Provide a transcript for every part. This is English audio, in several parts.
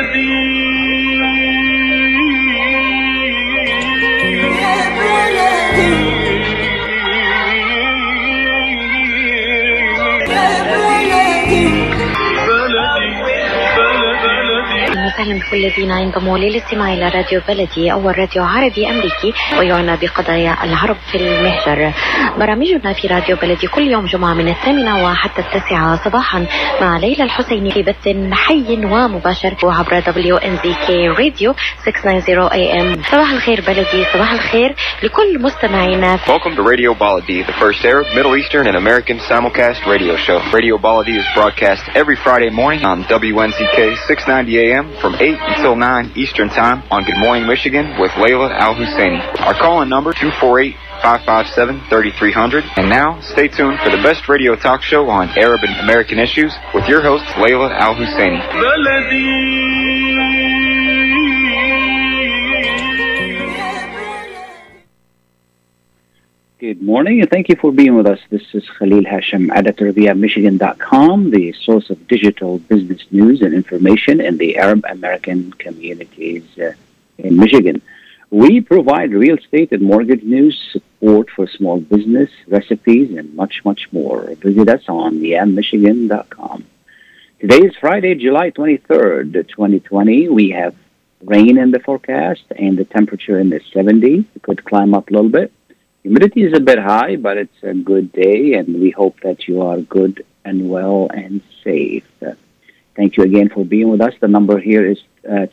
وسهلا بكل الذين ينضموا للاستماع إلى راديو بلدي، أول راديو عربي أمريكي ويعنى بقضايا العرب في المهجر. برامجنا في راديو بلدي كل يوم جمعة من 8 وحتى 9 صباحا مع ليلى الحسيني في بث حي ومباشر عبر WNZK راديو 690 AM. صباح الخير بلدي، صباح الخير لكل مستمعينا. Welcome to Radio Baladi, the first Arab, Middle Eastern and American simulcast radio show. Radio Baladi is broadcast every Friday morning on WNZK 690 AM from 8 until 9 Eastern Time on Good Morning Michigan with Layla Al-Husseini. Our call-in number 248-557-3300. And now, stay tuned for the best radio talk show on Arab and American issues with your host, Layla Al-Husseini. Good morning, and thank you for being with us. This is Khalil Hashim, editor via Michigan.com, the source of digital business news and information in the Arab American communities in Michigan. We provide real estate and mortgage news, support for small business, recipes, and much, much more. Visit us on Michigan.com. Today is Friday, July 23rd, 2020. We have rain in the forecast and the temperature in the 70s. It could climb up a little bit. Humidity is a bit high, but it's a good day, and we hope that you are good and well and safe. Thank you again for being with us. The number here is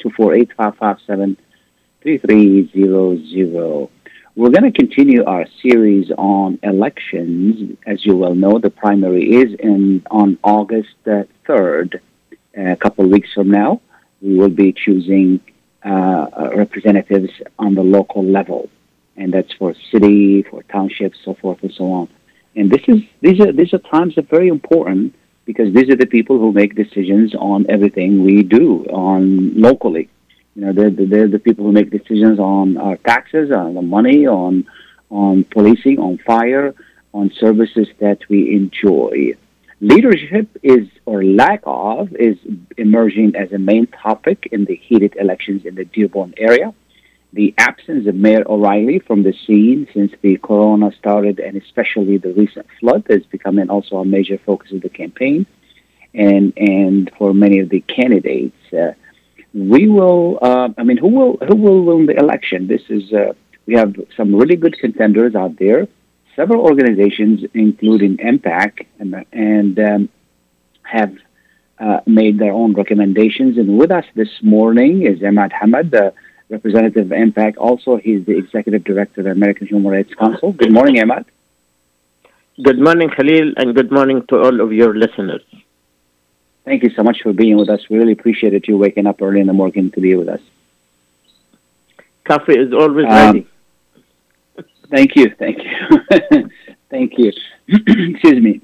248-557-3300. We're going to continue our series on elections. As you well know, the primary is on August 3rd, a couple of weeks from now. We will be choosing representatives on the local level. And that's for city, for townships, so forth and so on. And these are times that are very important because these are the people who make decisions on everything we do on locally. You know, they're the people who make decisions on our taxes, on the money, on policing, on fire, on services that we enjoy. Leadership is, or lack of, is emerging as a main topic in the heated elections in the Dearborn area. The absence of Mayor O'Reilly from the scene since the corona started, and especially the recent flood, is becoming also a major focus of the campaign. And for many of the candidates, we will. Who will win the election? This is. We have some really good contenders out there. Several organizations, including MPAC, and have made their own recommendations. And with us this morning is Ahmad Hamad, Representative of MPAC. Also, he's the Executive Director of the American Human Rights Council. Good morning, Ahmad. Good morning, Khalil, and good morning to all of your listeners. Thank you so much for being with us. We really appreciated you waking up early in the morning to be with us. Coffee is always ready. Thank you. Thank you. Excuse me.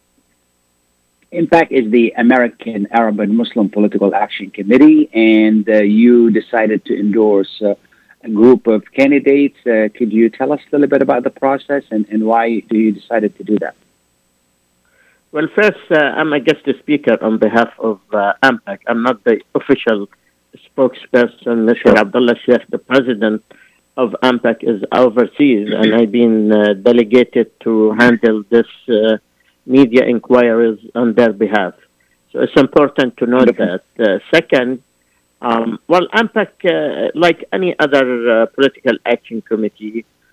MPAC is the American Arab and Muslim Political Action Committee, and you decided to endorse a group of candidates. Could you tell us a little bit about the process and why you decided to do that? Well, first, I'm a guest speaker on behalf of MPAC. I'm not the official spokesperson. Mr. Abdullah Sheikh, the president of MPAC, is overseas, and I've been delegated to handle this media inquiries on their behalf. So it's important to note that. Second, MPAC, like any other political action committee,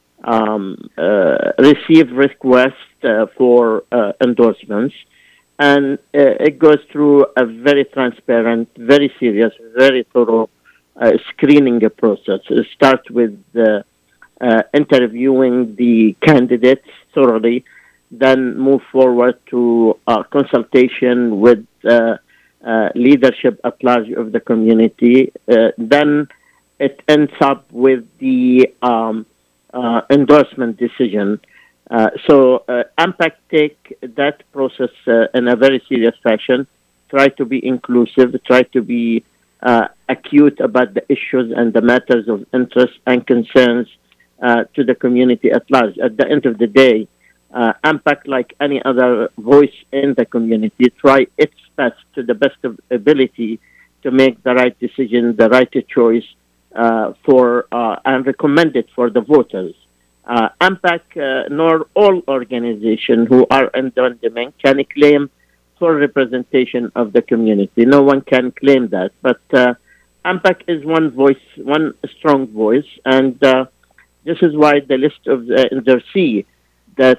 receive requests for endorsements, and it goes through a very transparent, very serious, very thorough screening process. It starts with interviewing the candidates thoroughly, then move forward to consultation with leadership at large of the community. Then it ends up with the endorsement decision. So MPAC take that process in a very serious fashion, try to be inclusive, try to be acute about the issues and the matters of interest and concerns to the community at large. At the end of the day, MPAC, like any other voice in the community, try its best to the best of ability to make the right decision, the right choice and recommend it for the voters. AMPAC nor all organizations who are endowment can claim full representation of the community. No one can claim that. But AMPAC is one voice, one strong voice, and this is why the list of NDRC that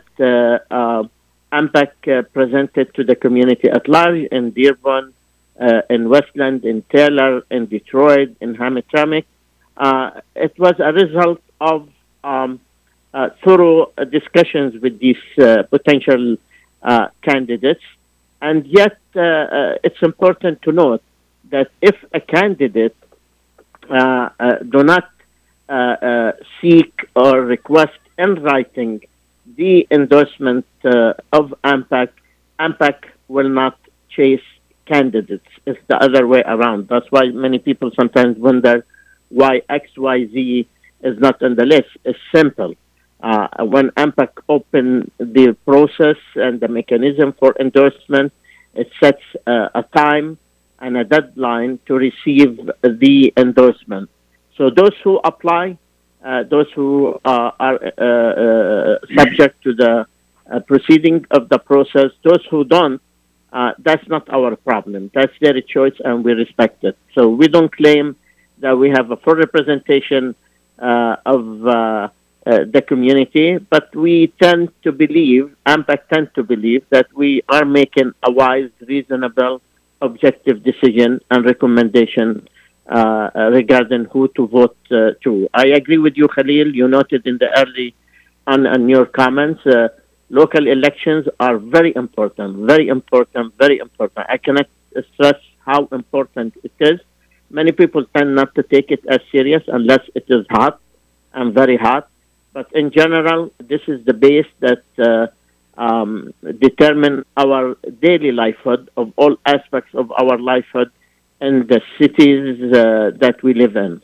AMPAC presented to the community at large in Dearborn, in Westland, in Taylor, in Detroit, in Hamtramck, it was a result of thorough discussions with these potential candidates. And yet, it's important to note that if a candidate do not seek or request in writing the endorsement of AMPAC, AMPAC will not chase candidates. It's the other way around. That's why many people sometimes wonder why XYZ is not on the list. It's simple. When AMPAC opened the process and the mechanism for endorsement, it sets a time and a deadline to receive the endorsement. So those who apply, those who are subject to the proceeding of the process, those who don't, that's not our problem. That's their choice, and we respect it. So we don't claim that we have a full representation of the community, but we tend to believe, AMPAC tend to believe, that we are making a wise, reasonable, objective decision and recommendation regarding who to vote to. I agree with you, Khalil. You noted in the early on your comments, local elections are very important, very important, very important. I cannot stress how important it is. Many people tend not to take it as serious unless it is hot and very hot. But in general, this is the base that determine our daily livelihood of all aspects of our livelihood in the cities that we live in.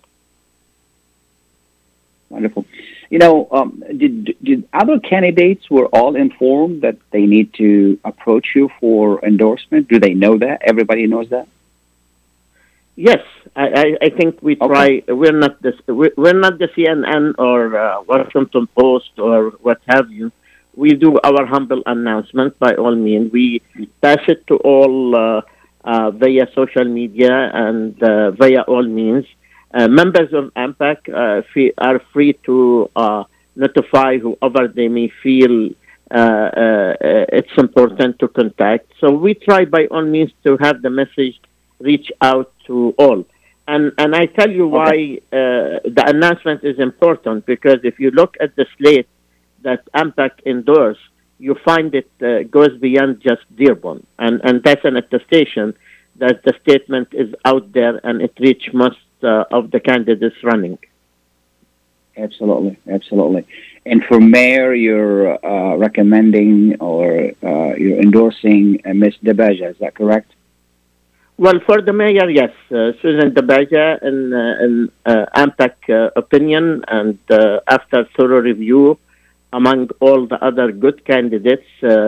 Wonderful. You know, did other candidates were all informed that they need to approach you for endorsement? Do they know that? Everybody knows that? Yes, I think we try. Okay. We're not the CNN or Washington Post or what have you. We do our humble announcement by all means. We pass it to all via social media and via all means. Members of AMPAC are free to notify whoever they may feel it's important to contact. So we try by all means to have the message reach out to all. And I tell you why the announcement is important, because if you look at the slate that AMPAC endorsed, you find it goes beyond just Dearborn. And that's an attestation that the statement is out there and it reached most of the candidates running. Absolutely, absolutely. And for mayor, you're recommending or you're endorsing Ms. DeBeja, is that correct? Well, for the mayor, yes. Susan DeBeja, in AMPAC opinion, and after thorough review among all the other good candidates,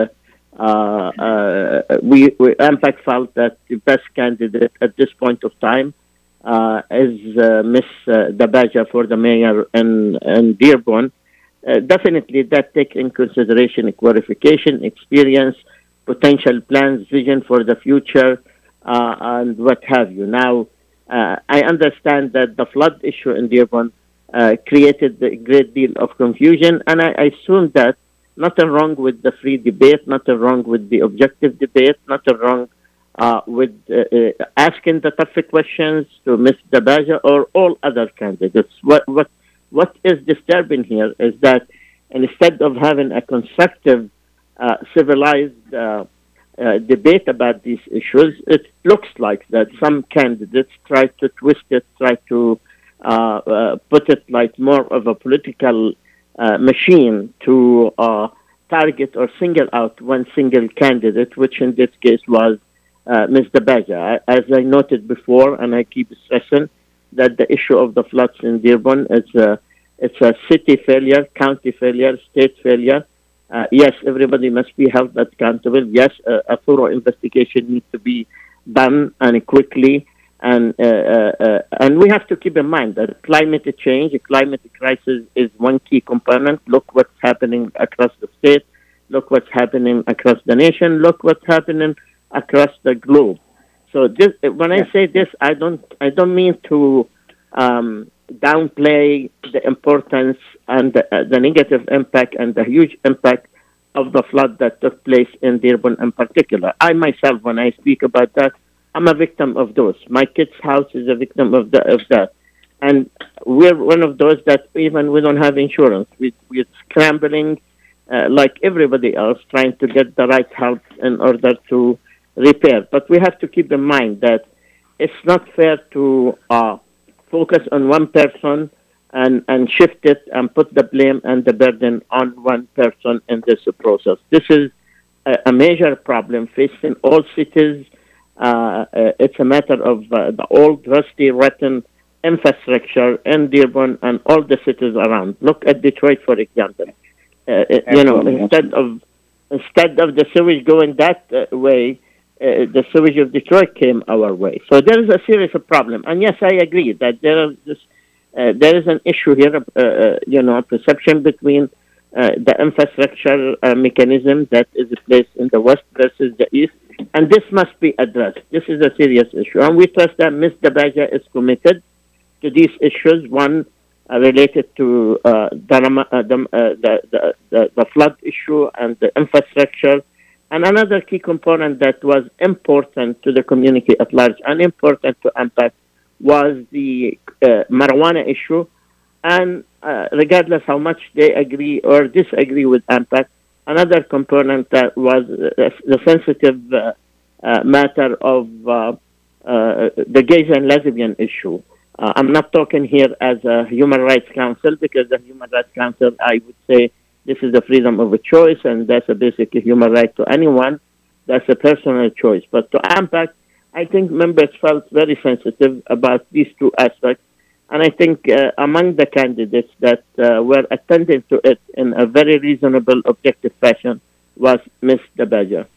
AMPAC felt that the best candidate at this point of time is Ms. DeBeja for the mayor in Dearborn. Definitely that takes in consideration qualification, experience, potential plans, vision for the future, and what have you. Now, I understand that the flood issue in Dearborn created a great deal of confusion, and I assume that nothing wrong with the free debate, nothing wrong with the objective debate, nothing wrong with asking the tough questions to Ms. DeBeja or all other candidates. What is disturbing here is that instead of having a constructive, civilized debate about these issues, it looks like that some candidates try to twist it, try to put it like more of a political machine to target or single out one single candidate, which in this case was Ms. DeBeja. As I noted before, and I keep stressing, that the issue of the floods in Dearborn is it's a city failure, county failure, state failure. Yes, everybody must be held accountable. Yes, a thorough investigation needs to be done and quickly. And we have to keep in mind that climate change, climate crisis is one key component. Look what's happening across the state. Look what's happening across the nation. Look what's happening across the globe. So this, when I say this, I don't mean to downplay the importance and the negative impact and the huge impact of the flood that took place in Dearborn in particular. I myself, when I speak about that, I'm a victim of those. My kid's house is a victim of that. And we're one of those that even we don't have insurance. We're scrambling like everybody else, trying to get the right help in order to repair. But we have to keep in mind that it's not fair to focus on one person and shift it and put the blame and the burden on one person in this process. This is a major problem facing all cities. It's a matter of the old, rusty, rotten infrastructure in Dearborn and all the cities around. Look at Detroit, for example. Instead of the sewage going that way, the sewage of Detroit came our way. So there is a serious problem. And yes, I agree that there is an issue here, perception between the infrastructure mechanism that is placed in the West versus the East. And this must be addressed. This is a serious issue. And we trust that Ms. Dabaja is committed to these issues, one related to the flood issue and the infrastructure. And another key component that was important to the community at large and important to AMPAC was the marijuana issue. And regardless how much they agree or disagree with AMPAC, another component that was the sensitive matter of the gays and lesbian issue. I'm not talking here as a Human Rights Council, because the Human Rights Council, I would say, this is the freedom of a choice, and that's a basic human right to anyone. That's a personal choice. But to AMPAC, I think members felt very sensitive about these two aspects. And I think among the candidates that were attending to it in a very reasonable, objective fashion was Ms. Dabaja.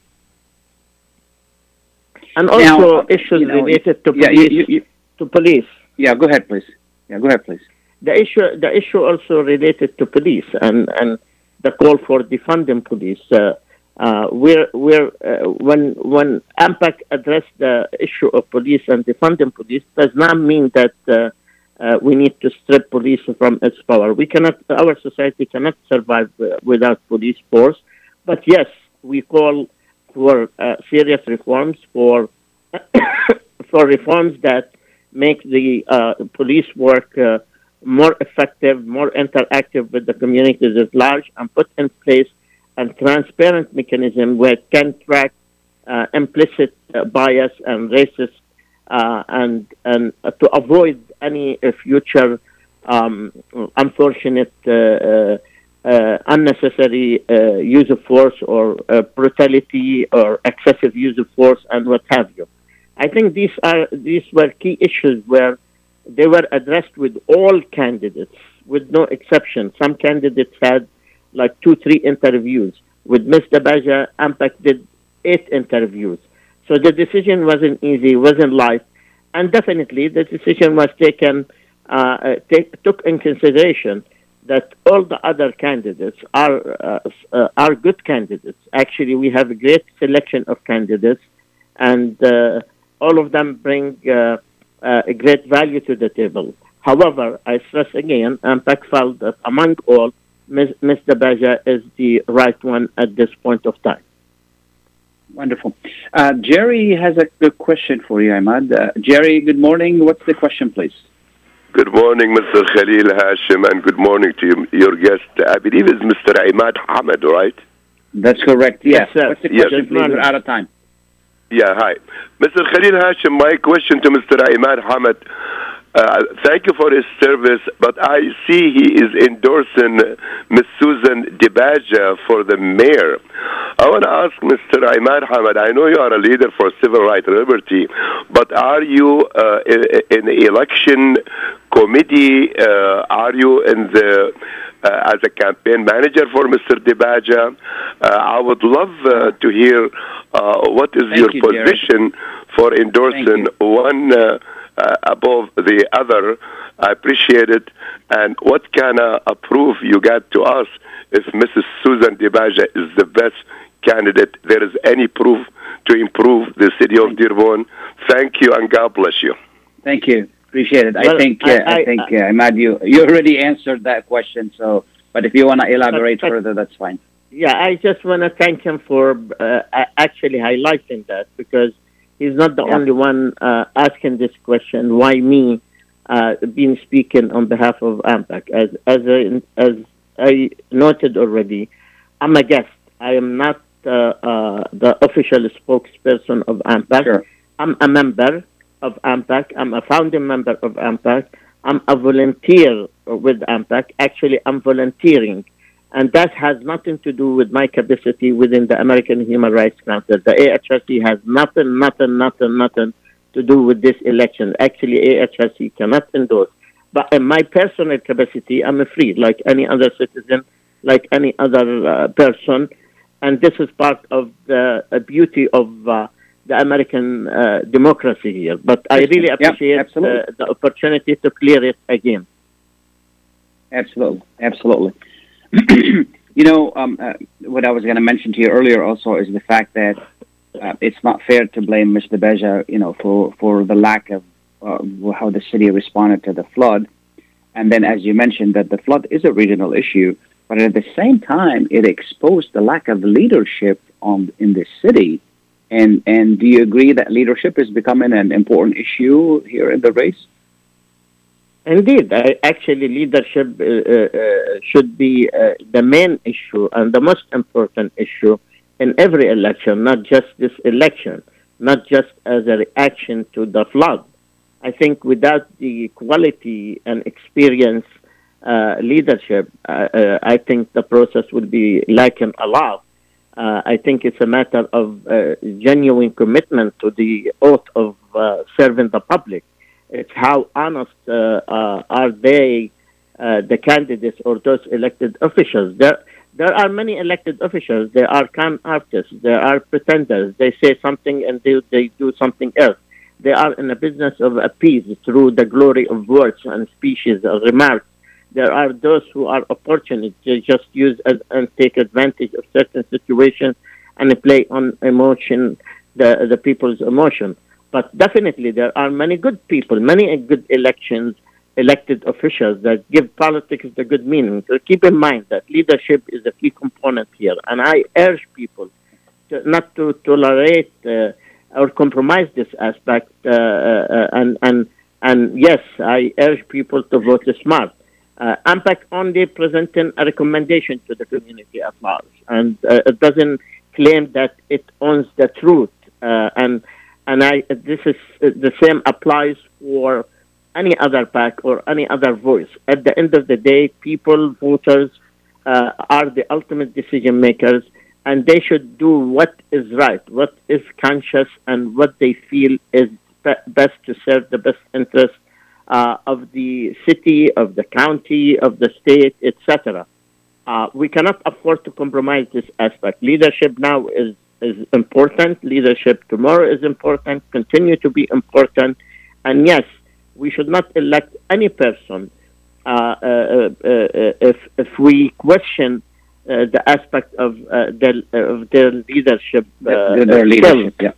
And also issues related to police. Yeah, go ahead, please. The issue also related to police and the call for defunding police. When AMPAC addressed the issue of police and defunding police, does not mean that we need to strip police from its power. Our society cannot survive without police force. But yes, we call for serious reforms, for reforms that make the police work more effective, more interactive with the communities at large, and put in place a transparent mechanism where it can track implicit bias and racist and to avoid any future unfortunate unnecessary use of force or brutality or excessive use of force and what have you. I think these were key issues where they were addressed with all candidates, with no exception. Some candidates had like 2-3 interviews. With Ms. Dabaja, AMPAC did 8 interviews. So the decision wasn't easy, wasn't light. And definitely the decision was took in consideration that all the other candidates are good candidates. Actually, we have a great selection of candidates, and all of them bring a great value to the table. However, I stress again, AMPAC felt that among all, Ms. Dabaja is the right one at this point of time. Wonderful. Jerry has a good question for you, Ahmad. Jerry, good morning. What's the question, please? Good morning, Mr. Khalil Hashim, and good morning to your guest. I believe it's Mr. Ahmad Hamad, right? That's correct, yes. What's the question, please? We're out of time. Yeah, hi. Mr. Khalil Hashim, my question to Mr. Ahmad Hamad, thank you for his service, but I see he is endorsing Ms. Susan Dabaja for the mayor. I want to ask Mr. Ahmad Hamad, I know you are a leader for civil rights and liberty, but are you in the election committee? Are you in the as a campaign manager for Mr. Dibaja. I would love to hear what is your position for endorsing one above the other. I appreciate it. And what kind of proof you got to us if Mrs. Susan Dibaja is the best candidate? There is any proof to improve the city of Dearborn? Thank you, and God bless you. Thank you. Appreciate it. Well, I think, Ahmad, you already answered that question. So, but if you want to elaborate further, that's fine. Yeah, I just want to thank him for actually highlighting that, because he's not the only one asking this question. Why me? Being speaking on behalf of AMPAC. As I noted already, I'm a guest. I am not the official spokesperson of AMPAC. Sure. I'm a member of AMPAC. I'm a founding member of AMPAC. I'm a volunteer with AMPAC. Actually, I'm volunteering. And that has nothing to do with my capacity within the American Human Rights Council. The AHRC has nothing to do with this election. Actually, AHRC cannot endorse. But in my personal capacity, I'm free, like any other citizen, like any other person. And this is part of the beauty of the American democracy here. But I really appreciate the opportunity to clear it again. Absolutely. What I was going to mention to you earlier also is the fact that it's not fair to blame Mr. Beja, for the lack of how the city responded to the flood. And then, as you mentioned, that the flood is a regional issue, but at the same time, it exposed the lack of leadership in the city. And do you agree that leadership is becoming an important issue here in the race? Indeed. Actually, leadership should be the main issue and the most important issue in every election, not just this election, not just as a reaction to the flood. I think without the quality and experience leadership, I think the process will be lacking a lot. I think it's a matter of genuine commitment to the oath of serving the public. It's how honest are they, the candidates or those elected officials. There are many elected officials. There are con artists. There are pretenders. They say something and they do something else. They are in the business of appease through the glory of words and speeches or remarks. There are those who are opportunists. They just use and take advantage of certain situations and play on emotion, the people's emotion. But definitely there are many good people, many good elected officials that give politics the good meaning. So keep in mind that leadership is a key component here. And I urge people not to tolerate or compromise this aspect. And yes, I urge people to vote smart. AMPAC only presenting a recommendation to the community at large, and it doesn't claim that it owns the truth. This is the same applies for any other PAC or any other voice. At the end of the day, people, voters, are the ultimate decision makers, and they should do what is right, what is conscious, and what they feel is best to serve the best interest of the city, of the county, of the state, etc. We cannot afford to compromise this aspect. Leadership now is important. Leadership tomorrow is important, continue to be important. And yes, we should not elect any person if we question the aspect of their leadership, their leadership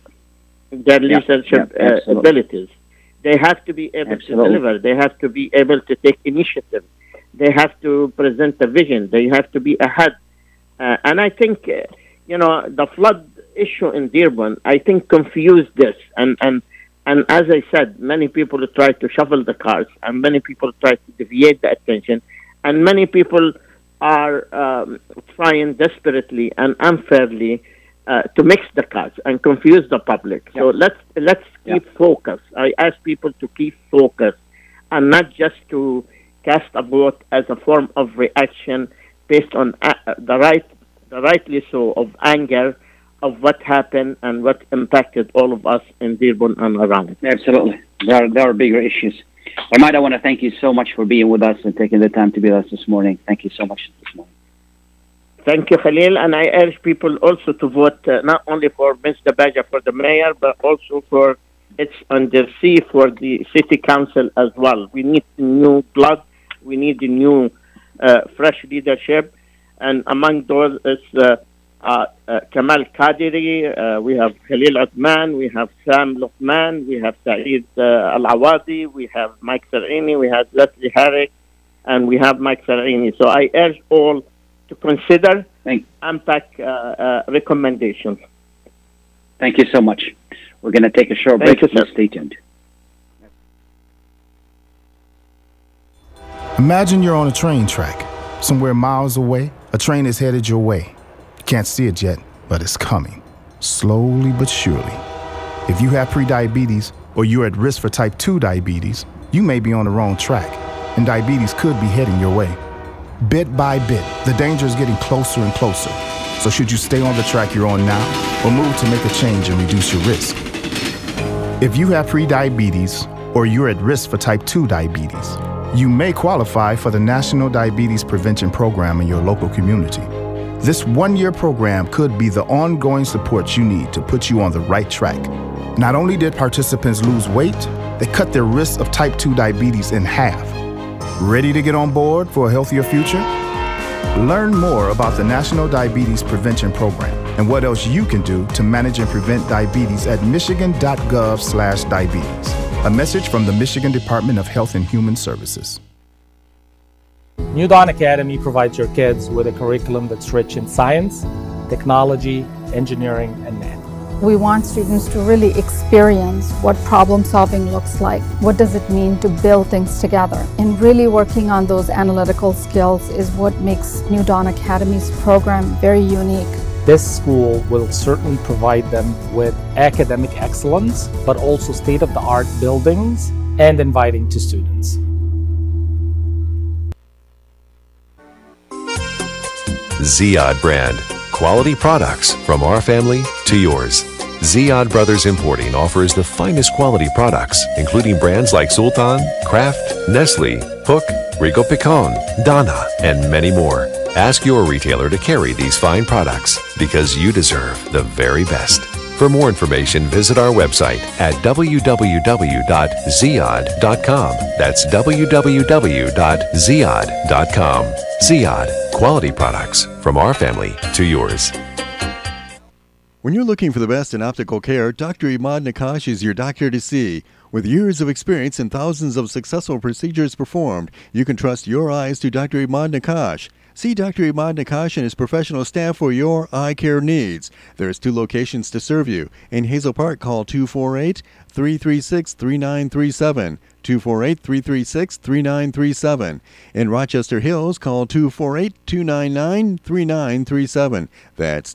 abilities. They have to be able to deliver. They have to be able to take initiative. They have to present a vision. They have to be ahead. And I think, the flood issue in Dearborn, I think, confused this. And as I said, many people try to shuffle the cards, and many people try to deviate the attention, and many people are trying desperately and unfairly to mix the cards and confuse the public. So let's keep focus. I ask people to keep focus and not just to cast a vote as a form of reaction based on the rightly so of anger of what happened and what impacted all of us in Dearborn and around. Absolutely. There are bigger issues. Ahmad, I want to thank you so much for being with us and taking the time to be with us this morning. Thank you so much this morning. Thank you, Khalil. And I urge people also to vote not only for Ms. Dabaja for the mayor, but also for It's Under C for the city council as well. We need new blood. We need a new fresh leadership. And among those is Kamal Qadiri, we have Khalil Uthman, we have Sam Luqman, we have Saeed Al-Awadi, we have Mike Sar'ini, we have Leslie Herrick, and we have Mike Sar'ini. So I urge all to consider AMPAC recommendations. Thank you so much. We're going to take a short break. Stay tuned. Imagine you're on a train track. Somewhere miles away, a train is headed your way. You can't see it yet, but it's coming. Slowly but surely. If you have prediabetes or you're at risk for type 2 diabetes, you may be on the wrong track, and diabetes could be heading your way. Bit by bit, the danger is getting closer and closer. So should you stay on the track you're on now or move to make a change and reduce your risk? If you have prediabetes or you're at risk for type 2 diabetes, you may qualify for the National Diabetes Prevention Program in your local community. This one-year program could be the ongoing support you need to put you on the right track. Not only did participants lose weight, they cut their risk of type 2 diabetes in half. Ready to get on board for a healthier future? Learn more about the National Diabetes Prevention Program and what else you can do to manage and prevent diabetes at michigan.gov/diabetes. A message from the Michigan Department of Health and Human Services. New Dawn Academy provides your kids with a curriculum that's rich in science, technology, engineering, and math. We want students to really experience what problem solving looks like. What does it mean to build things together? And really working on those analytical skills is what makes New Dawn Academy's program very unique. This school will certainly provide them with academic excellence, but also state-of-the-art buildings and inviting to students. Ziyad brand. Quality products from our family to yours. Ziyad Brothers Importing offers the finest quality products, including brands like Sultan, Kraft, Nestle, Hook, Rico Picon, Dana, and many more. Ask your retailer to carry these fine products because you deserve the very best. For more information, visit our website at www.ziyad.com. That's www.ziyad.com. Ziyad, quality products from our family to yours. When you're looking for the best in optical care, Dr. Imad Nakash is your doctor to see. With years of experience and thousands of successful procedures performed, you can trust your eyes to Dr. Imad Nakash. See Dr. Imad Nakash and his professional staff for your eye care needs. There's 2 locations to serve you. In Hazel Park, call 248-336-3937. 248-336-3937. In Rochester Hills, call 248-299-3937. That's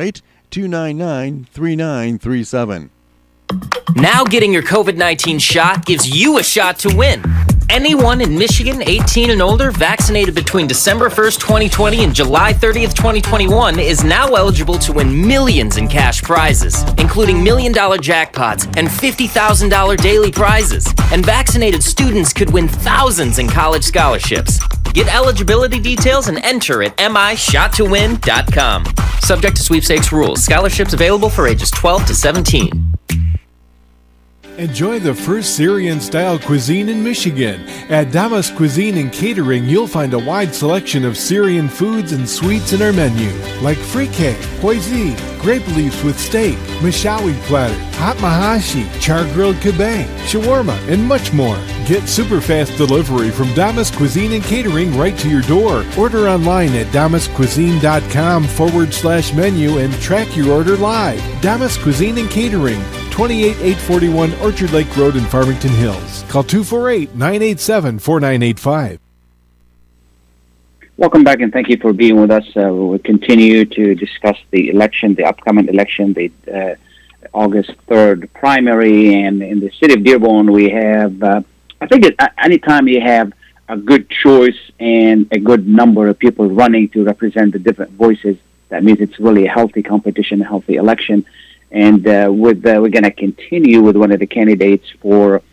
248-299-3937. Now getting your COVID-19 shot gives you a shot to win. Anyone in Michigan 18 and older vaccinated between December 1st, 2020 and July 30th, 2021 is now eligible to win millions in cash prizes, including $1 million jackpots and $50,000 daily prizes. And vaccinated students could win thousands in college scholarships. Get eligibility details and enter at mishottowin.com. Subject to sweepstakes rules. Scholarships available for ages 12 to 17. Enjoy the first Syrian-style cuisine in Michigan. At Damas Cuisine and Catering, you'll find a wide selection of Syrian foods and sweets in our menu, like frikeh, poisi, grape leaves with steak, mashawi platter, hot mahashi, char-grilled kebab, shawarma, and much more. Get super fast delivery from Damas Cuisine and Catering right to your door. Order online at damascuisine.com/menu and track your order live. Damas Cuisine and Catering, 28841 Orchard Lake Road in Farmington Hills. Call 248-987-4985. Welcome back, and thank you for being with us. We'll continue to discuss the election, the upcoming election, the August 3rd primary. And in the city of Dearborn, we have, I think anytime you have a good choice and a good number of people running to represent the different voices, that means it's really a healthy competition, a healthy election. And we're going to continue with one of the candidates for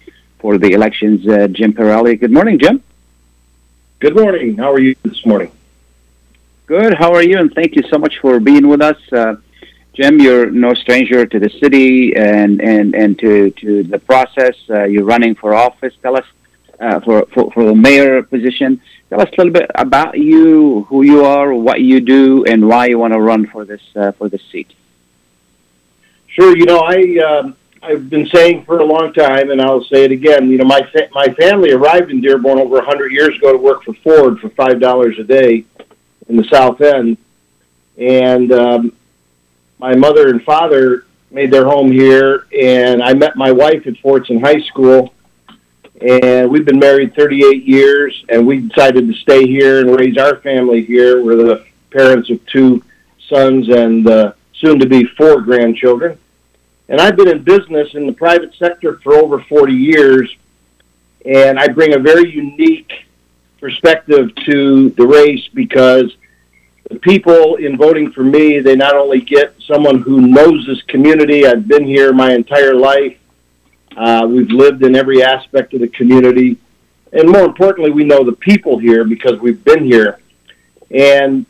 for the elections, Jim Pirelli. Good morning, Jim. Good morning. How are you this morning? Good. How are you? And thank you so much for being with us. Jim, you're no stranger to the city and to the process. You're running for office. Tell us for the mayor position. Tell us a little bit about you, who you are, what you do, and why you want to run for this seat. Sure. I've been saying for a long time, and I'll say it again. My family arrived in Dearborn over 100 years ago to work for Ford for $5 a day in the South End, and my mother and father made their home here, and I met my wife at Fordson High School, and we've been married 38 years, and we decided to stay here and raise our family here. We're the parents of 2 sons and soon-to-be 4 grandchildren. And I've been in business in the private sector for over 40 years, and I bring a very unique perspective to the race because the people in voting for me, they not only get someone who knows this community. I've been here my entire life. We've lived in every aspect of the community. And more importantly, we know the people here because we've been here. And,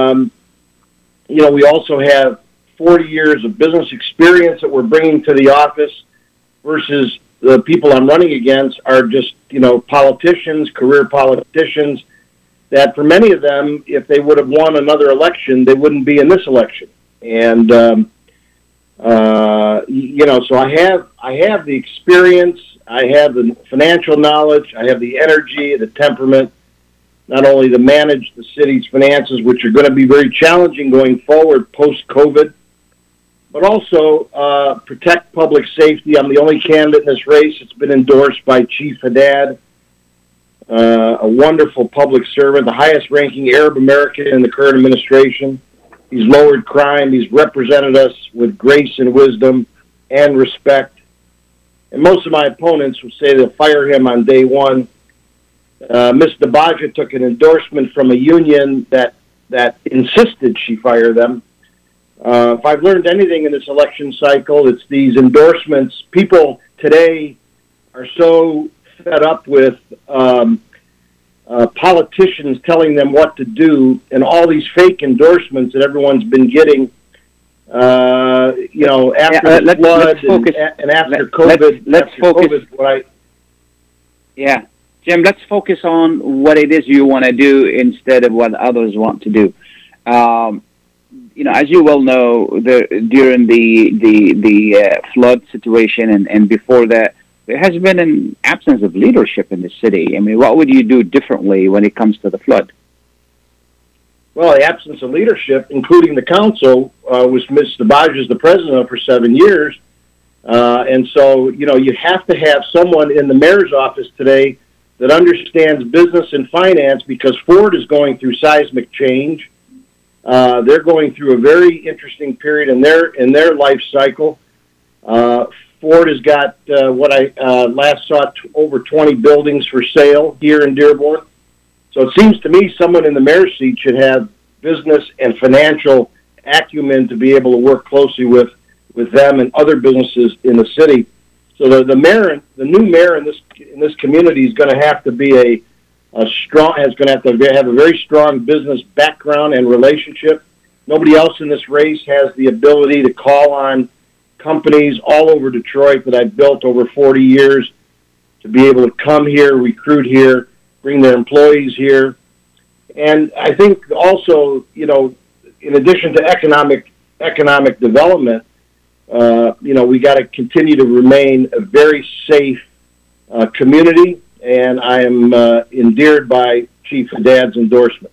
we also have 40 years of business experience that we're bringing to the office versus the people I'm running against are just, politicians, career politicians, that for many of them, if they would have won another election, they wouldn't be in this election. And, so I have the experience, I have the financial knowledge, I have the energy, the temperament, not only to manage the city's finances, which are going to be very challenging going forward post-COVID, but also protect public safety. I'm the only candidate in this race that's been endorsed by Chief Haddad, a wonderful public servant, the highest-ranking Arab American in the current administration. He's lowered crime. He's represented us with grace and wisdom and respect. And most of my opponents will say they'll fire him on day one. Ms. DeBaja took an endorsement from a union that insisted she fire them. If I've learned anything in this election cycle, it's these endorsements. People today are so fed up with politicians telling them what to do and all these fake endorsements that everyone's been getting, after the flood and after COVID. Let's focus. Jim, let's focus on what it is you want to do instead of what others want to do. As you well know, during the flood situation and before that, there has been an absence of leadership in the city. I mean, what would you do differently when it comes to the flood? Well, the absence of leadership, including the council, was Ms. DeBaja the president for 7 years. And so, you have to have someone in the mayor's office today that understands business and finance because Ford is going through seismic change. They're going through a very interesting period in their life cycle. Ford has got what I last saw over 20 buildings for sale here in Dearborn. So it seems to me someone in the mayor's seat should have business and financial acumen to be able to work closely with them and other businesses in the city. So the new mayor in this community is going to have to be has going to have a very strong business background and relationship. Nobody else in this race has the ability to call on companies all over Detroit that I've built over 40 years to be able to come here, recruit here, bring their employees here. And I think also, in addition to economic development, we got to continue to remain a very safe community, and I am endeared by Chief Haddad's endorsement.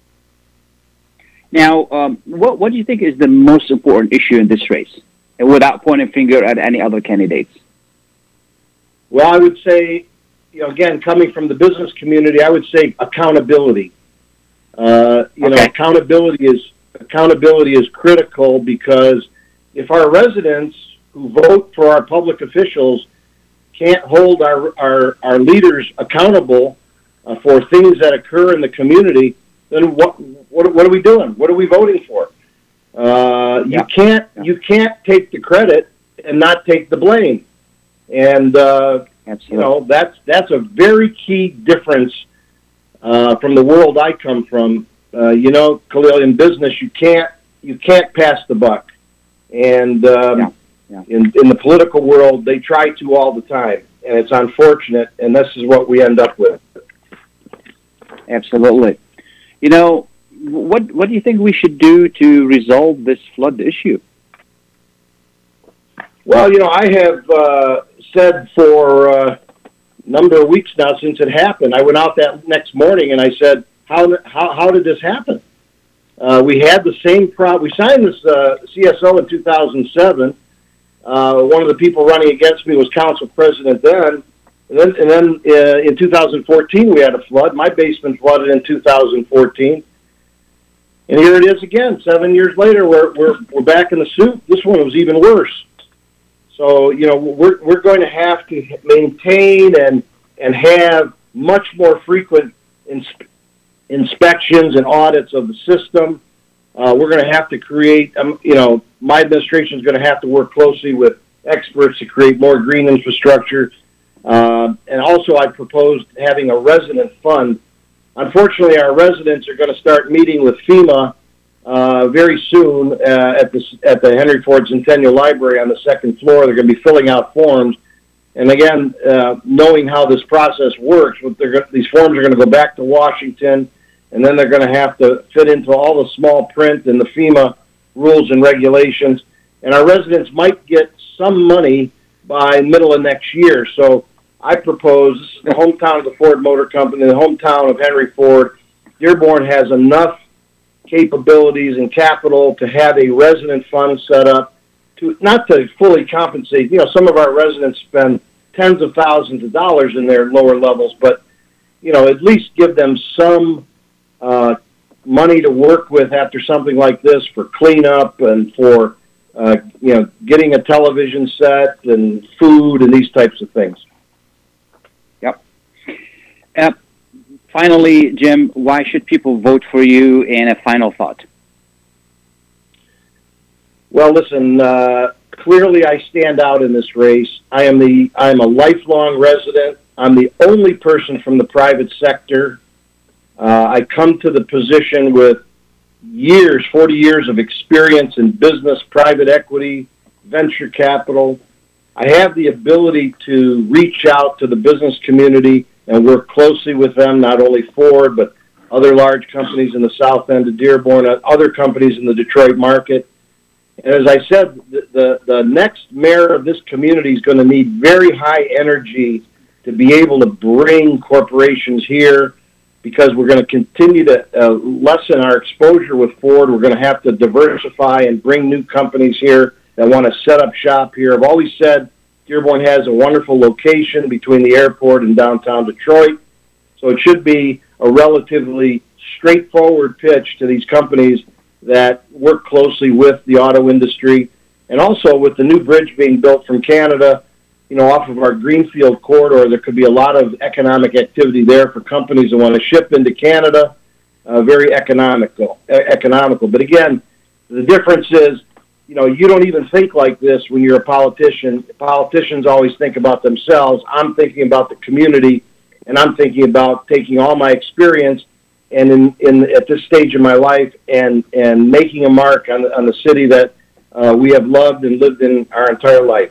Now, what do you think is the most important issue in this race, without pointing finger at any other candidates? Well, I would say, again, coming from the business community, I would say accountability. Accountability is critical because if our residents who vote for our public officials can't hold our leaders accountable for things that occur in the community, then what are we doing? What are we voting for? You can't take the credit and not take the blame. And Absolutely. That's a very key difference from the world I come from. Khalil, in business, you can't pass the buck, and in the political world, they try to all the time, and it's unfortunate. And this is what we end up with. Absolutely. What do you think we should do to resolve this flood issue? Well, I have said for a number of weeks now since it happened. I went out that next morning and I said, "How did this happen?" We had the same problem. We signed this CSO in 2007. One of the people running against me was council president then. And then in 2014 we had a flood. My basement flooded in 2014. And here it is again. 7 years later, we're back in the soup. This one was even worse. So we're going to have to maintain and have much more frequent inspections and audits of the system. We're going to have to create. My administration is going to have to work closely with experts to create more green infrastructure. And also, I proposed having a resident fund. Unfortunately, our residents are going to start meeting with FEMA very soon at the Henry Ford Centennial Library on the second floor. They're going to be filling out forms. And again, knowing how this process works, these forms are going to go back to Washington, and then they're going to have to fit into all the small print and the FEMA rules and regulations. And our residents might get some money by middle of next year. So I propose, this is the hometown of the Ford Motor Company, the hometown of Henry Ford. Dearborn has enough capabilities and capital to have a resident fund set up not to fully compensate. Some of our residents spend tens of thousands of dollars in their lower levels, but at least give them some money to work with after something like this for cleanup and for getting a television set and food and these types of things. Yep. Finally, Jim, why should people vote for you? And a final thought. Well, listen. Clearly, I stand out in this race. I am a lifelong resident. I'm the only person from the private sector. I come to the position with 40 years of experience in business, private equity, venture capital. I have the ability to reach out to the business community and work closely with them, not only Ford, but other large companies in the south end of Dearborn, other companies in the Detroit market. And as I said, the next mayor of this community is going to need very high energy to be able to bring corporations here, because we're going to continue to lessen our exposure with Ford. We're going to have to diversify and bring new companies here that want to set up shop here. I've always said Dearborn has a wonderful location between the airport and downtown Detroit, so it should be a relatively straightforward pitch to these companies that work closely with the auto industry. And also with the new bridge being built from Canada, off of our Greenfield corridor, there could be a lot of economic activity there for companies that want to ship into Canada. Very economical. But again, the difference is, you don't even think like this when you're a politician. Politicians always think about themselves. I'm thinking about the community, and I'm thinking about taking all my experience and at this stage of my life and making a mark on the city that we have loved and lived in our entire life.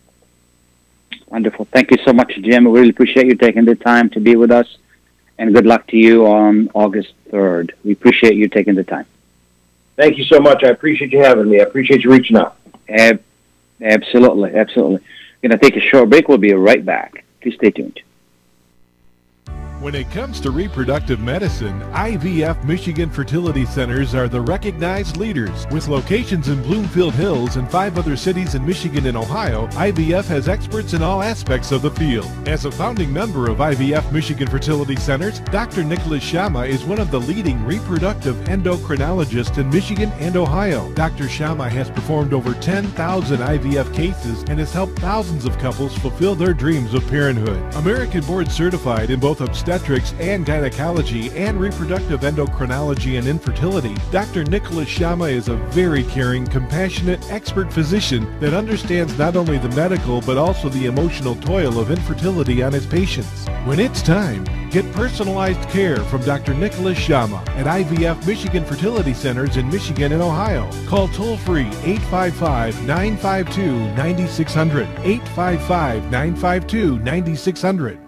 Wonderful. Thank you so much, Jim. We really appreciate you taking the time to be with us, and good luck to you on August 3rd. We appreciate you taking the time. Thank you so much. I appreciate you having me. I appreciate you reaching out. Absolutely. We're going to take a short break. We'll be right back. Please stay tuned. When it comes to reproductive medicine, IVF Michigan Fertility Centers are the recognized leaders. With locations in Bloomfield Hills and 5 other cities in Michigan and Ohio, IVF has experts in all aspects of the field. As a founding member of IVF Michigan Fertility Centers, Dr. Nicholas Shama is one of the leading reproductive endocrinologists in Michigan and Ohio. Dr. Shama has performed over 10,000 IVF cases and has helped thousands of couples fulfill their dreams of parenthood. American board certified in both obstetrics obstetrics and gynecology and reproductive endocrinology and infertility, Dr. Nicholas Shama is a very caring, compassionate, expert physician that understands not only the medical but also the emotional toil of infertility on his patients. When it's time, get personalized care from Dr. Nicholas Shama at IVF Michigan Fertility Centers in Michigan and Ohio. Call toll-free 855-952-9600, 855-952-9600.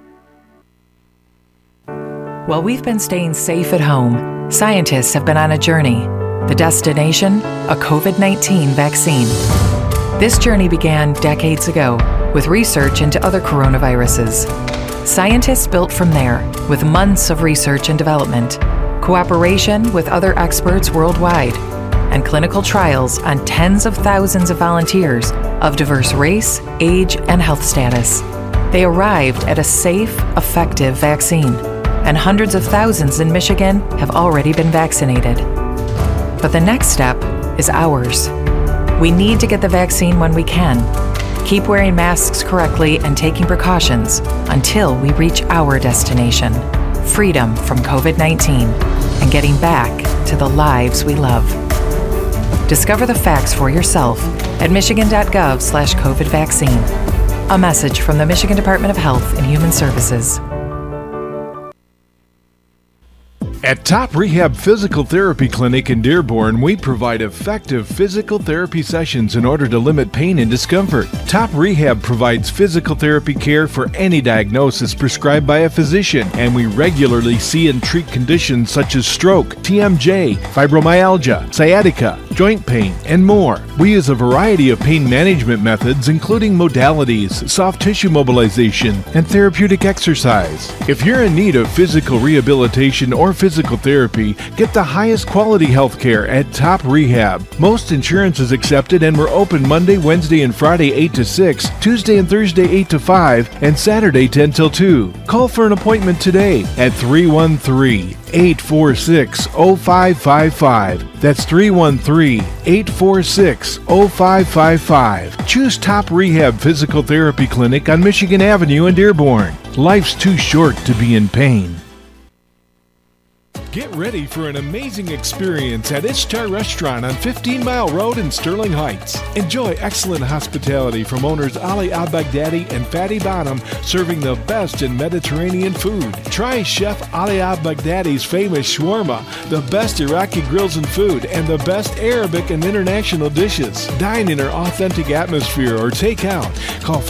While we've been staying safe at home, scientists have been on a journey. The destination, a COVID-19 vaccine. This journey began decades ago with research into other coronaviruses. Scientists built from there with months of research and development, cooperation with other experts worldwide, and clinical trials on tens of thousands of volunteers of diverse race, age, and health status. They arrived at a safe, effective vaccine, and hundreds of thousands in Michigan have already been vaccinated. But the next step is ours. We need to get the vaccine when we can. Keep wearing masks correctly and taking precautions until we reach our destination, freedom from COVID-19, and getting back to the lives we love. Discover the facts for yourself at michigan.gov/COVID vaccine. A message from the Michigan Department of Health and Human Services. At Top Rehab Physical Therapy Clinic in Dearborn, we provide effective physical therapy sessions in order to limit pain and discomfort. Top Rehab provides physical therapy care for any diagnosis prescribed by a physician, and we regularly see and treat conditions such as stroke, TMJ, fibromyalgia, sciatica, joint pain, and more. We use a variety of pain management methods, including modalities, soft tissue mobilization, and therapeutic exercise. If you're in need of physical rehabilitation or physical therapy, get the highest quality health care at Top Rehab. Most insurance is accepted, and we're open Monday, Wednesday, and Friday 8 to 6, Tuesday and Thursday 8 to 5, and Saturday 10 till 2. Call for an appointment today at 313-846-0555. That's 313-846-0555. Choose Top Rehab Physical Therapy Clinic on Michigan Avenue in Dearborn. Life's too short to be in pain. Get ready for an amazing experience at Ishtar Restaurant on 15 Mile Road in Sterling Heights. Enjoy excellent hospitality from owners Ali Al-Baghdadi and Fatty Bonham, serving the best in Mediterranean food. Try Chef Ali Al-Baghdadi's famous shawarma, the best Iraqi grills and food, and the best Arabic and international dishes. Dine in our authentic atmosphere or take out. Call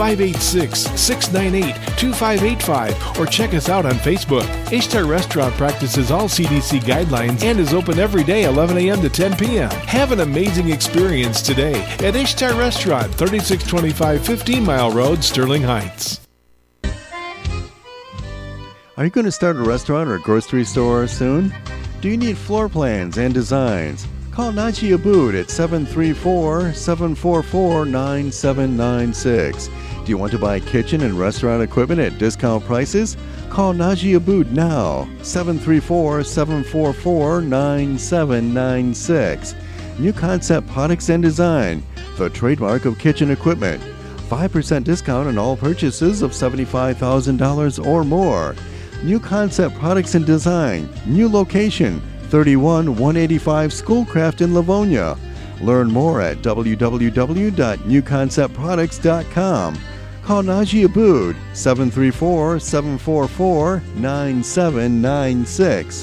586-698-2585 or check us out on Facebook. Ishtar Restaurant practices all CDC guidelines and is open every day 11 a.m. to 10 p.m. Have an amazing experience today at Ishtar Restaurant, 3625 15 Mile Road, Sterling Heights. Are you going to start a restaurant or grocery store soon? Do you need floor plans and designs? Call Naji Abood at 734-744-9796. Do you want to buy kitchen and restaurant equipment at discount prices? Call Naji Abood now, 734-744-9796. New Concept Products and Design, the trademark of kitchen equipment. 5% discount on all purchases of $75,000 or more. New Concept Products and Design, new location, 31185 Schoolcraft in Livonia. Learn more at www.newconceptproducts.com. Call Naji Abood, 734-744-9796.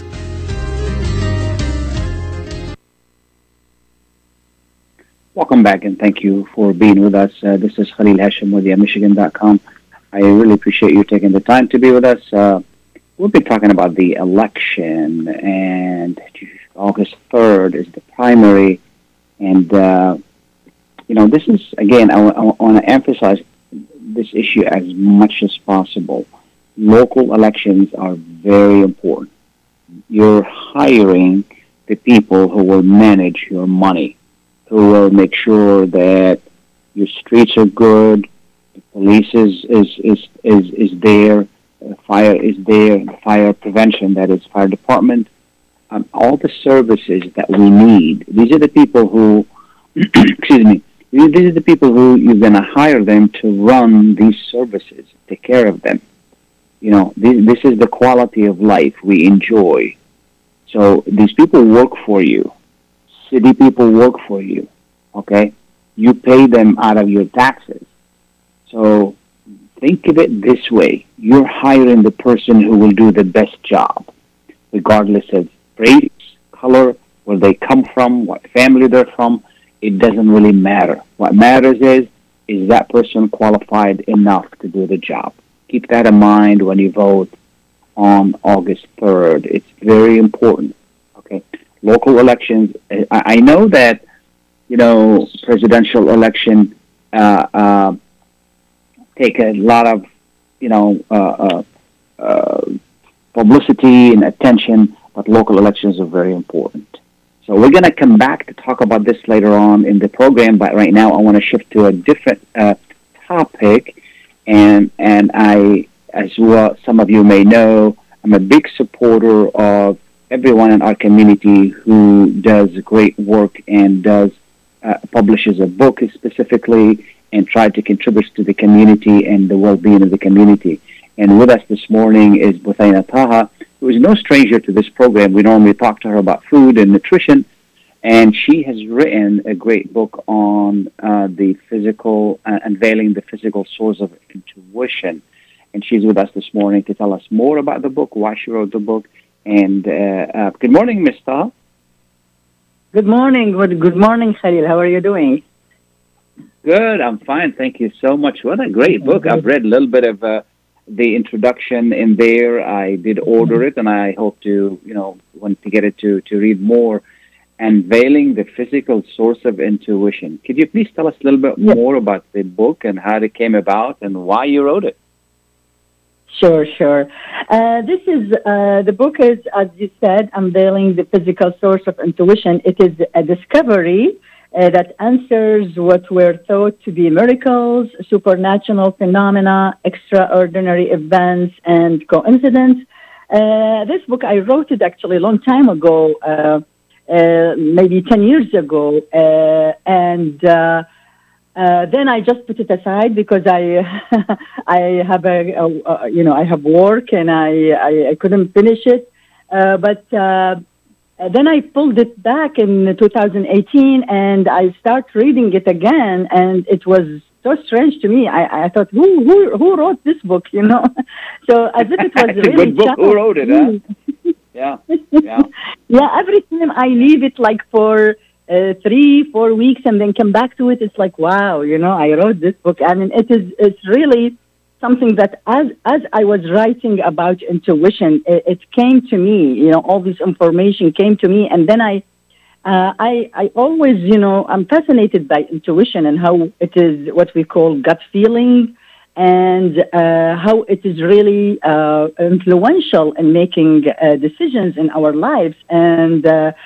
Welcome back, and thank you for being with us. This is Khalil Hashim with Michigan.com. I really appreciate you taking the time to be with us. We'll be talking about the election, and August 3rd is the primary. And, this is, again, I want to emphasize this issue as much as possible. Local elections are very important. You're hiring the people who will manage your money, who will make sure that your streets are good, the police is there, fire is there, fire prevention, that is fire department, all the services that we need. These are the people who, excuse me, these are the people who you're going to hire them to run these services, take care of them. This is the quality of life we enjoy. So these people work for you. City people work for you. Okay? You pay them out of your taxes. So think of it this way. You're hiring the person who will do the best job, regardless of race, color, where they come from, what family they're from. It doesn't really matter. What matters is that person qualified enough to do the job. Keep that in mind when you vote on August 3rd. It's very important. Okay? Local elections, I know that, presidential election take a lot of, publicity and attention, but local elections are very important. So we're going to come back to talk about this later on in the program, but right now I want to shift to a different topic. And I, as well, some of you may know, I'm a big supporter of everyone in our community who does great work and publishes a book specifically and try to contribute to the community and the well-being of the community. And with us this morning is Buthaina Taha, who is no stranger to this program. We normally talk to her about food and nutrition, and she has written a great book on the physical, unveiling the physical source of intuition. And she's with us this morning to tell us more about the book, why she wrote the book. And good morning, Ms. Taha. Good morning. Good morning, Khalil. How are you doing? Good. I'm fine. Thank you so much. What a great book. I've read a little bit of the introduction in there. I did order it, and I hope to, want to get it to read more. Unveiling the Physical Source of Intuition. Could you please tell us a little bit more about the book and how it came about and why you wrote it? Sure. This is, the book is, as you said, Unveiling the Physical Source of Intuition. It is a discovery that answers what were thought to be miracles, supernatural phenomena, extraordinary events, and coincidence. This book, I wrote it actually a long time ago, maybe 10 years ago, and then I just put it aside because I have I have work and I couldn't finish it, but then I pulled it back in 2018 and I started reading it again, and it was so strange to me. I thought, who wrote this book? So as if it was it's really a good book. Who wrote it? Huh? Yeah. Yeah. Every time I leave it like for 3-4 weeks and then come back to it, it's like, wow, I wrote this book. I mean, it's really something that as I was writing about intuition, it came to me, all this information came to me. And then I always, I'm fascinated by intuition and how it is what we call gut feeling, and how it is really influential in making decisions in our lives. And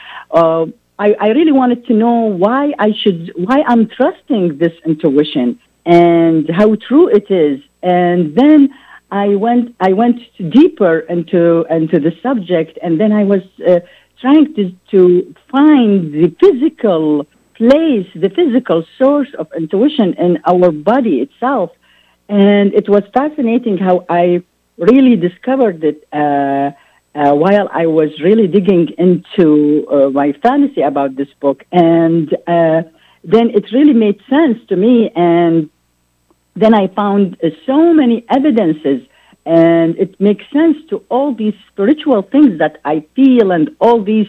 I really wanted to know why I'm trusting this intuition and how true it is. And then I went deeper into the subject, and then I was trying to find the physical place, the physical source of intuition in our body itself. And it was fascinating how I really discovered it while I was really digging into my fantasy about this book. And then it really made sense to me. And then I found so many evidences, and it makes sense to all these spiritual things that I feel and all these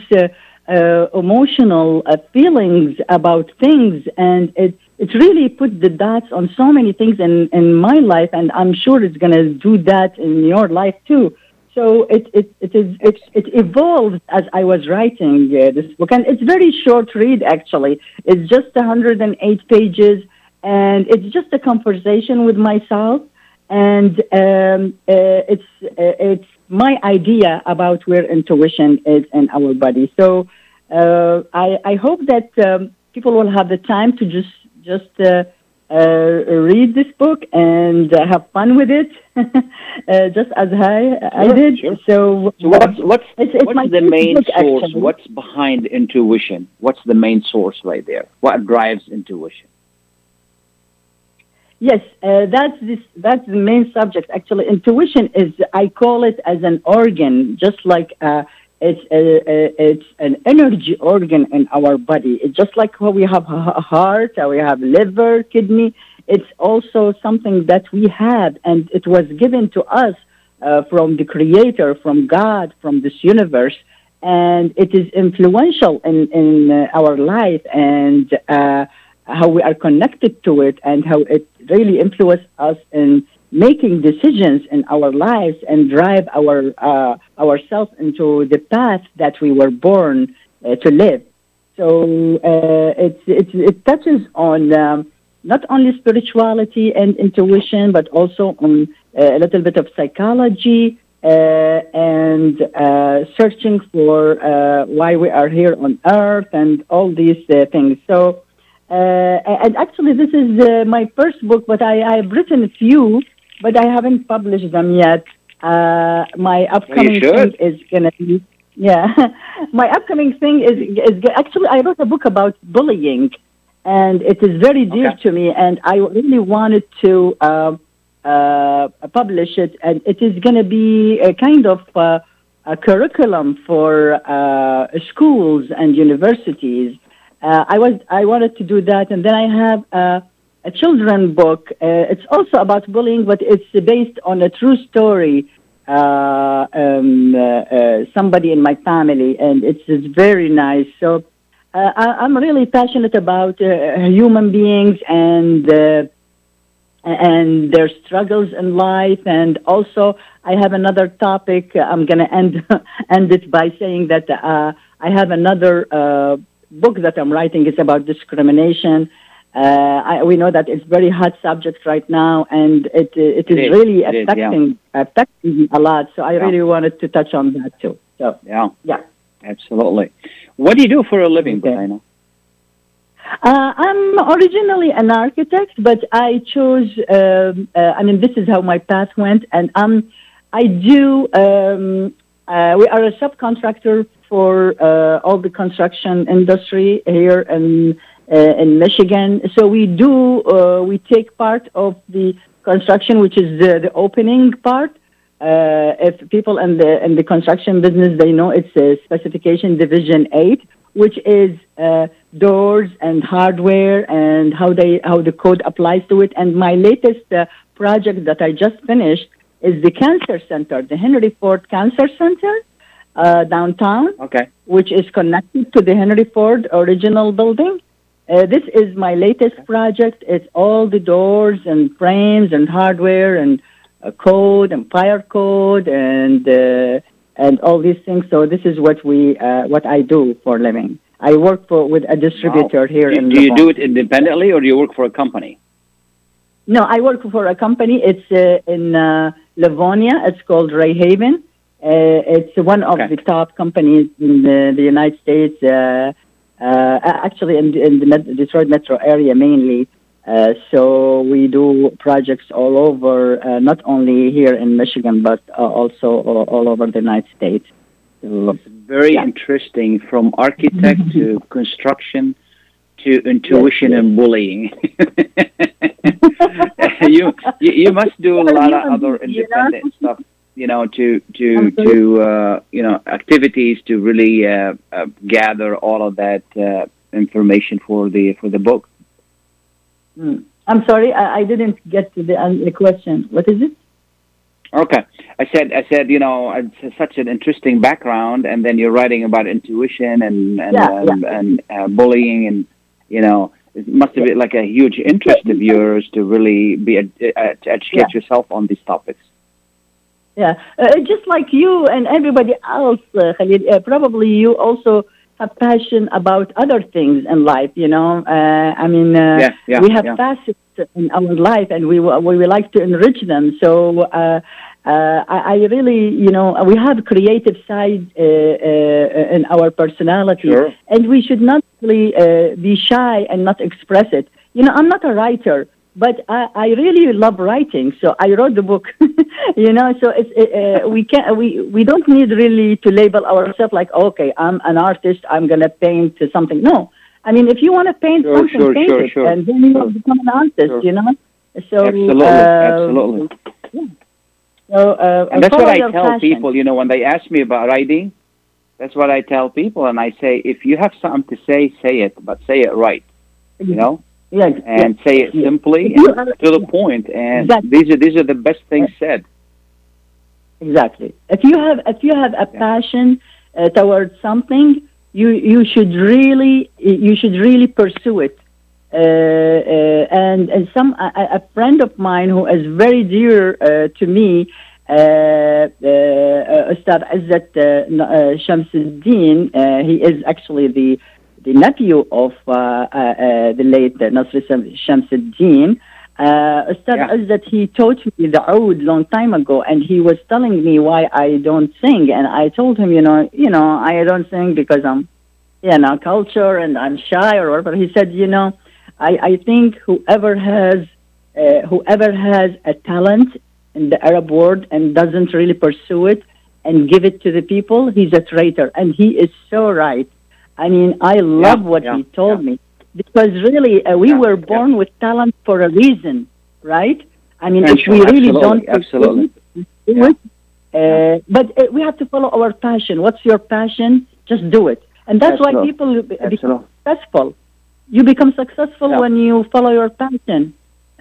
emotional feelings about things. And it really put the dots on so many things in my life, and I'm sure it's going to do that in your life too. So it evolved as I was writing this book, and it's very short read actually. It's just 108 pages, and it's just a conversation with myself, and it's my idea about where intuition is in our body. So I hope that people will have the time to just read this book and have fun with it, just as I did. Sure. So what's the main book, source? actually. What's behind intuition? What's the main source right there? What drives intuition? Yes, that's the main subject. Actually, intuition is, I call it as an organ, just like it's an energy organ in our body. It's just like how we have a heart, how we have liver, kidney. It's also something that we have, and it was given to us from the Creator, from God, from this universe, and it is influential in our life and how we are connected to it, and how it really influences us in making decisions in our lives and drive ourselves into the path that we were born to live. So it touches on not only spirituality and intuition, but also on a little bit of psychology and searching for why we are here on Earth and all these things. So, and actually, this is my first book, but I've written a few, but I haven't published them yet. My upcoming thing is going to be, my upcoming thing is actually, I wrote a book about bullying, and it is very dear to me, and I really wanted to publish it, and it is going to be a kind of a curriculum for schools and universities. I wanted to do that, and then I have a children's book. It's also about bullying, but it's based on a true story. Somebody in my family, and it's very nice. So I'm really passionate about human beings and their struggles in life. And also, I have another topic. I'm going to end it by saying that I have another book that I'm writing. It's about discrimination. We know that it's very hot subject right now, and it is really affecting me a lot. So I really wanted to touch on that too. So yeah, absolutely. What do you do for a living, Bahina? I'm originally an architect, but I chose. This is how my path went, and I do. We are a subcontractor for all the construction industry here in Michigan. So we take part of the construction, which is the opening part. If people in the construction business, they know it's specification division 8, which is doors and hardware and how the code applies to it. And my latest project that I just finished is the cancer center, the Henry Ford Cancer Center downtown, which is connected to the Henry Ford original building. This is my latest project. It's all the doors and frames and hardware and code and fire code and all these things. So this is what I do for a living. I work with a distributor here in Do you do it independently, or do you work for a company? No, I work for a company. It's in Livonia. It's called Ray Haven. It's one of the top companies in the United States. Actually, in the Detroit metro area mainly. So we do projects all over, not only here in Michigan, but also all over the United States. So, it's very interesting, from architect to construction to intuition and bullying. you must do a lot of other independent stuff, activities to really gather all of that information for the book. I'm sorry, I didn't get to the question. What is it? Okay, I said, it's such an interesting background, and then you're writing about intuition and bullying, and it must have been like a huge interest of yours to really be to educate yourself on these topics. Yeah, just like you and everybody else, Khalid, probably you also have passion about other things in life. We have facets in our life, and we like to enrich them. So I really, we have creative side in our personality, and we should not really be shy and not express it. I'm not a writer, but I really love writing, so I wrote the book. So it's we don't need really to label ourselves like, okay, I'm an artist, I'm gonna paint something. No, if you want to paint something, paint it, and then you become an artist. So absolutely. So, and that's what I tell passion. people, you know, when they ask me about writing, that's what I tell people. And I say, if you have something to say, say it, but say it right, you know? Yes. And say it simply and to the point. And these are the best things said. Exactly. If you have a passion towards something, you should really pursue it. And a friend of mine who is very dear to me, Ustad Izzat Shamsuddin, he is actually the nephew of the late Nasr Shamsuddin. Ustad Izzat, he taught me the oud long time ago, and he was telling me why I don't sing, and I told him, you know, I don't sing because I'm, culture and I'm shy or whatever. He said, I think whoever has a talent in the Arab world and doesn't really pursue it and give it to the people, he's a traitor. And he is so right. I mean, I love what he told me, because really we were born with talent for a reason, right? I mean, if we really don't pursue it, but we have to follow our passion. What's your passion? Just do it. And that's why people become successful. You become successful when you follow your passion.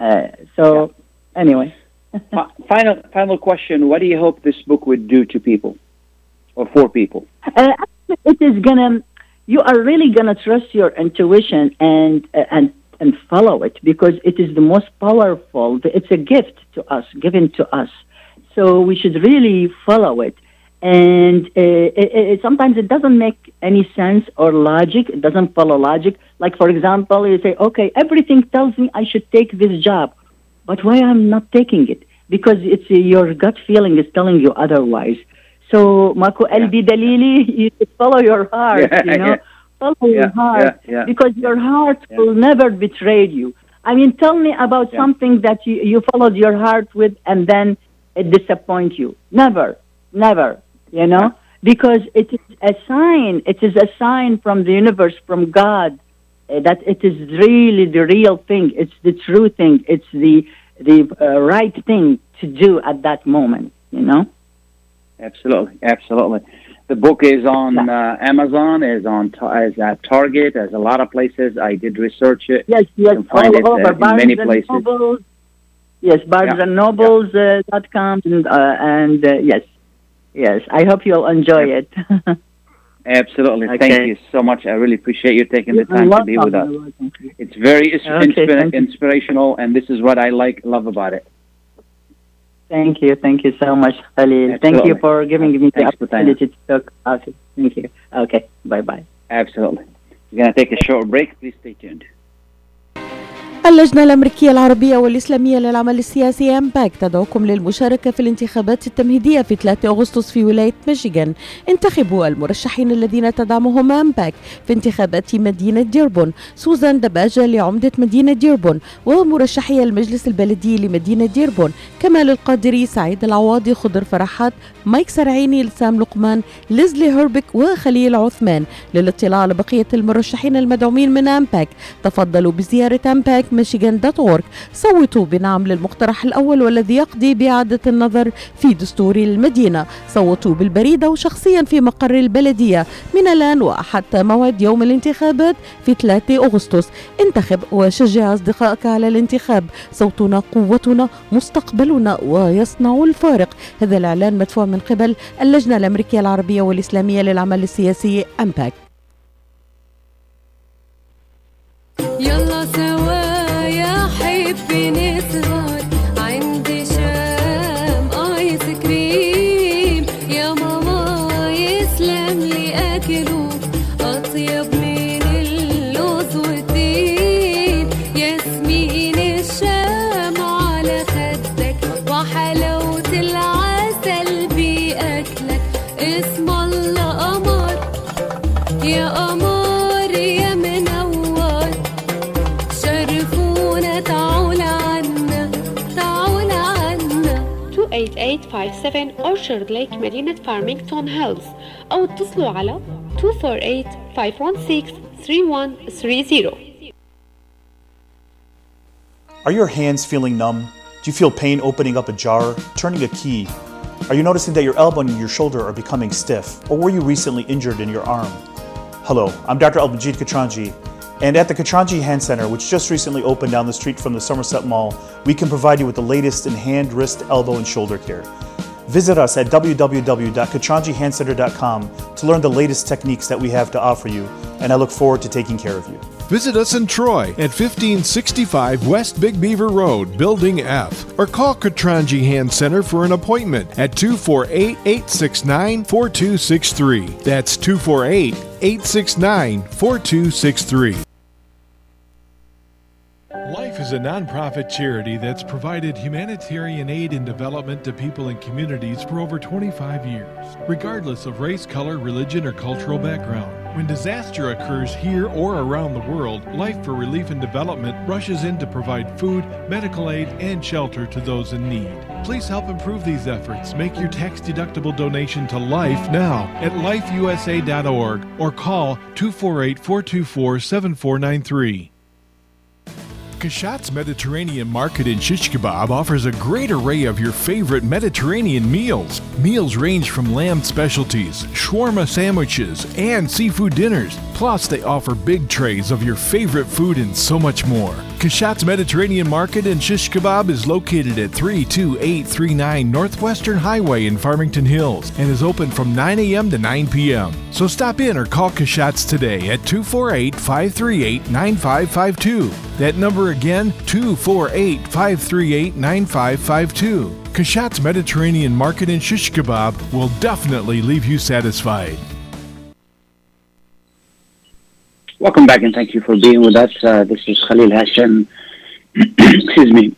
Anyway. Final question. What do you hope this book would do to people or for people? It is you are really gonna trust your intuition and follow it, because it is the most powerful. It's a gift to us, given to us. So we should really follow it. And sometimes it doesn't make any sense or logic. It doesn't follow logic. Like, for example, you say, okay, everything tells me I should take this job, but why I'm not taking it? Because it's your gut feeling is telling you otherwise. So, Mako Elbi Dalili, you should follow your heart, follow your heart, because your heart will never betray you. I mean, tell me about something that you followed your heart with and then it disappoints you. Never. Because it is a sign. It is a sign from the universe, from God, that it is really the real thing. It's the true thing. It's the right thing to do at that moment. Absolutely. The book is on Amazon, is at Target, as a lot of places. I did research it. Yes, you can find it in many places. Nobles. Yes, BarnesandNobles.com and yes. I hope you'll enjoy it. Absolutely. Okay. Thank you so much. I really appreciate you taking the time to be with us. It's very inspirational, and this is what I love about it. Thank you so much, Khalil. Thank you for giving me the opportunity to talk about it. Thank you. Okay, bye-bye. Absolutely. We're going to take a short break. Please stay tuned. اللجنة الأمريكية العربية والإسلامية للعمل السياسي أمباك تدعوكم للمشاركة في الانتخابات التمهيدية في 3 أغسطس في ولاية ميشيغان. انتخبوا المرشحين الذين تدعمهم أمباك في انتخابات مدينة ديربون: سوزان دباجة لعمدة مدينة ديربون، ومرشحي المجلس البلدي لمدينة ديربون: كمال القادري، سعيد العواضي، خضر فرحات، مايك سرعيني، لسام لقمان، ليزلي هربك، وخليل عثمان. للاطلاع على بقية المرشحين المدعومين من أمباك تفضلوا بزيارة أمباك michigan.org. صوتوا بنعم للمقترح الأول والذي يقضي بإعادة النظر في دستور المدينة. صوتوا بالبريد أو شخصيا في مقر البلدية من الآن وحتى موعد يوم الانتخابات في 3 أغسطس. انتخب وشجع أصدقائك على الانتخاب. صوتنا قوتنا، مستقبلنا، ويصنع الفارق. هذا الإعلان مدفوع من قبل اللجنة الأمريكية العربية والإسلامية للعمل السياسي أمباك. يلا سوا يا حبي نسهر عند شام آيس كريم، يا ماما يسلم لي أكله أطيب من اللوز والتين، ياسمين الشام على خدك وحلاوة العسل بأكلك، اسم الله قمر يا قمر. 8857 Orchard Lake مدينة فارمينغتون هيلز، أو اتصلوا على 248-516-3130. Are your hands feeling numb? Do you feel pain opening up a jar, turning a key? Are you noticing that your elbow and your shoulder are becoming stiff? Or were you recently injured in your arm? Hello, I'm Dr. Al-Majid Katranji, and at the Katranji Hand Center, which just recently opened down the street from the Somerset Mall, we can provide you with the latest in hand, wrist, elbow, and shoulder care. Visit us at www.katranjihandcenter.com to learn the latest techniques that we have to offer you, and I look forward to taking care of you. Visit us in Troy at 1565 West Big Beaver Road, Building F, or call Katranji Hand Center for an appointment at 248-869-4263. That's 248-869-4263. Life is a nonprofit charity that's provided humanitarian aid and development to people and communities for over 25 years, regardless of race, color, religion, or cultural background. When disaster occurs here or around the world, Life for Relief and Development rushes in to provide food, medical aid, and shelter to those in need. Please help improve these efforts. Make your tax-deductible donation to Life now at lifeusa.org or call 248-424-7493. Kashat's Mediterranean Market in Shish Kebab offers a great array of your favorite Mediterranean meals. Meals range from lamb specialties, shawarma sandwiches, and seafood dinners. Plus, they offer big trays of your favorite food and so much more. Kashat's Mediterranean Market in Shish Kebab is located at 32839 Northwestern Highway in Farmington Hills and is open from 9 a.m. to 9 p.m. So stop in or call Kashat's today at 248-538-9552. That number again, 248-538-9552. Kashat's Mediterranean Market in Shish Kebab will definitely leave you satisfied. Welcome back and thank you for being with us. This is Khalil Hashem. Excuse me.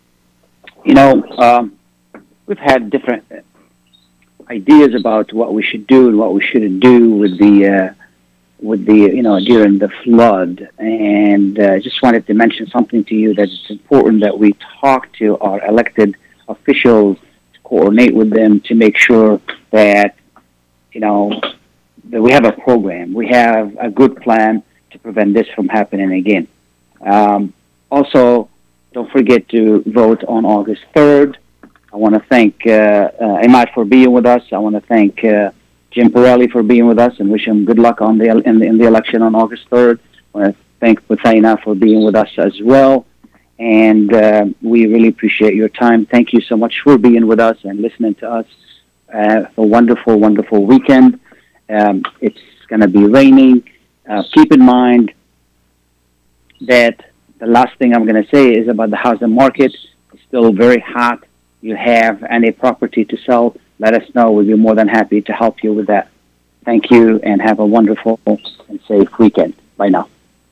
We've had different ideas about what we should do and what we shouldn't do with the during the flood. And I just wanted to mention something to you that it's important that we talk to our elected officials, to coordinate with them to make sure that, that we have a program. We have a good plan to prevent this from happening again. Also, don't forget to vote on August 3rd. I want to thank Imad for being with us. I want to thank Jim Pirelli for being with us and wish him good luck in the election on August 3rd. I want to thank Buthaina for being with us as well. And we really appreciate your time. Thank you so much for being with us and listening to us. A wonderful, wonderful weekend. It's going to be raining. Keep in mind that the last thing I'm going to say is about the housing market. It's still very hot. You have any property to sell, let us know. We'll be more than happy to help you with that. Thank you and have a wonderful and safe weekend. Bye now.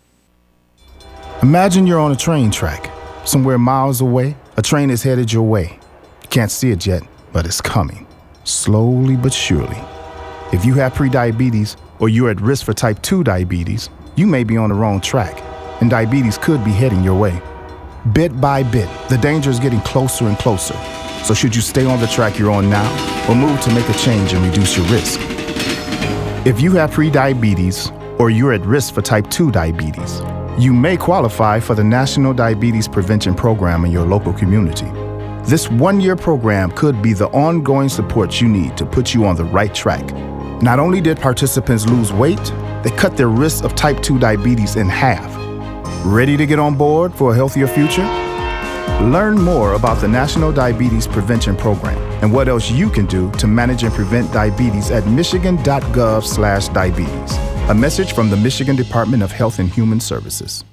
Imagine you're on a train track. Somewhere miles away, a train is headed your way. You can't see it yet, but it's coming. Slowly but surely. If you have prediabetes or you're at risk for type 2 diabetes, you may be on the wrong track, and diabetes could be heading your way. Bit by bit, the danger is getting closer and closer. So should you stay on the track you're on now or move to make a change and reduce your risk? If you have prediabetes or you're at risk for type 2 diabetes, you may qualify for the National Diabetes Prevention Program in your local community. This one-year program could be the ongoing support you need to put you on the right track. Not only did participants lose weight, they cut their risk of type 2 diabetes in half. Ready to get on board for a healthier future? Learn more about the National Diabetes Prevention Program and what else you can do to manage and prevent diabetes at michigan.gov/diabetes. A message from the Michigan Department of Health and Human Services.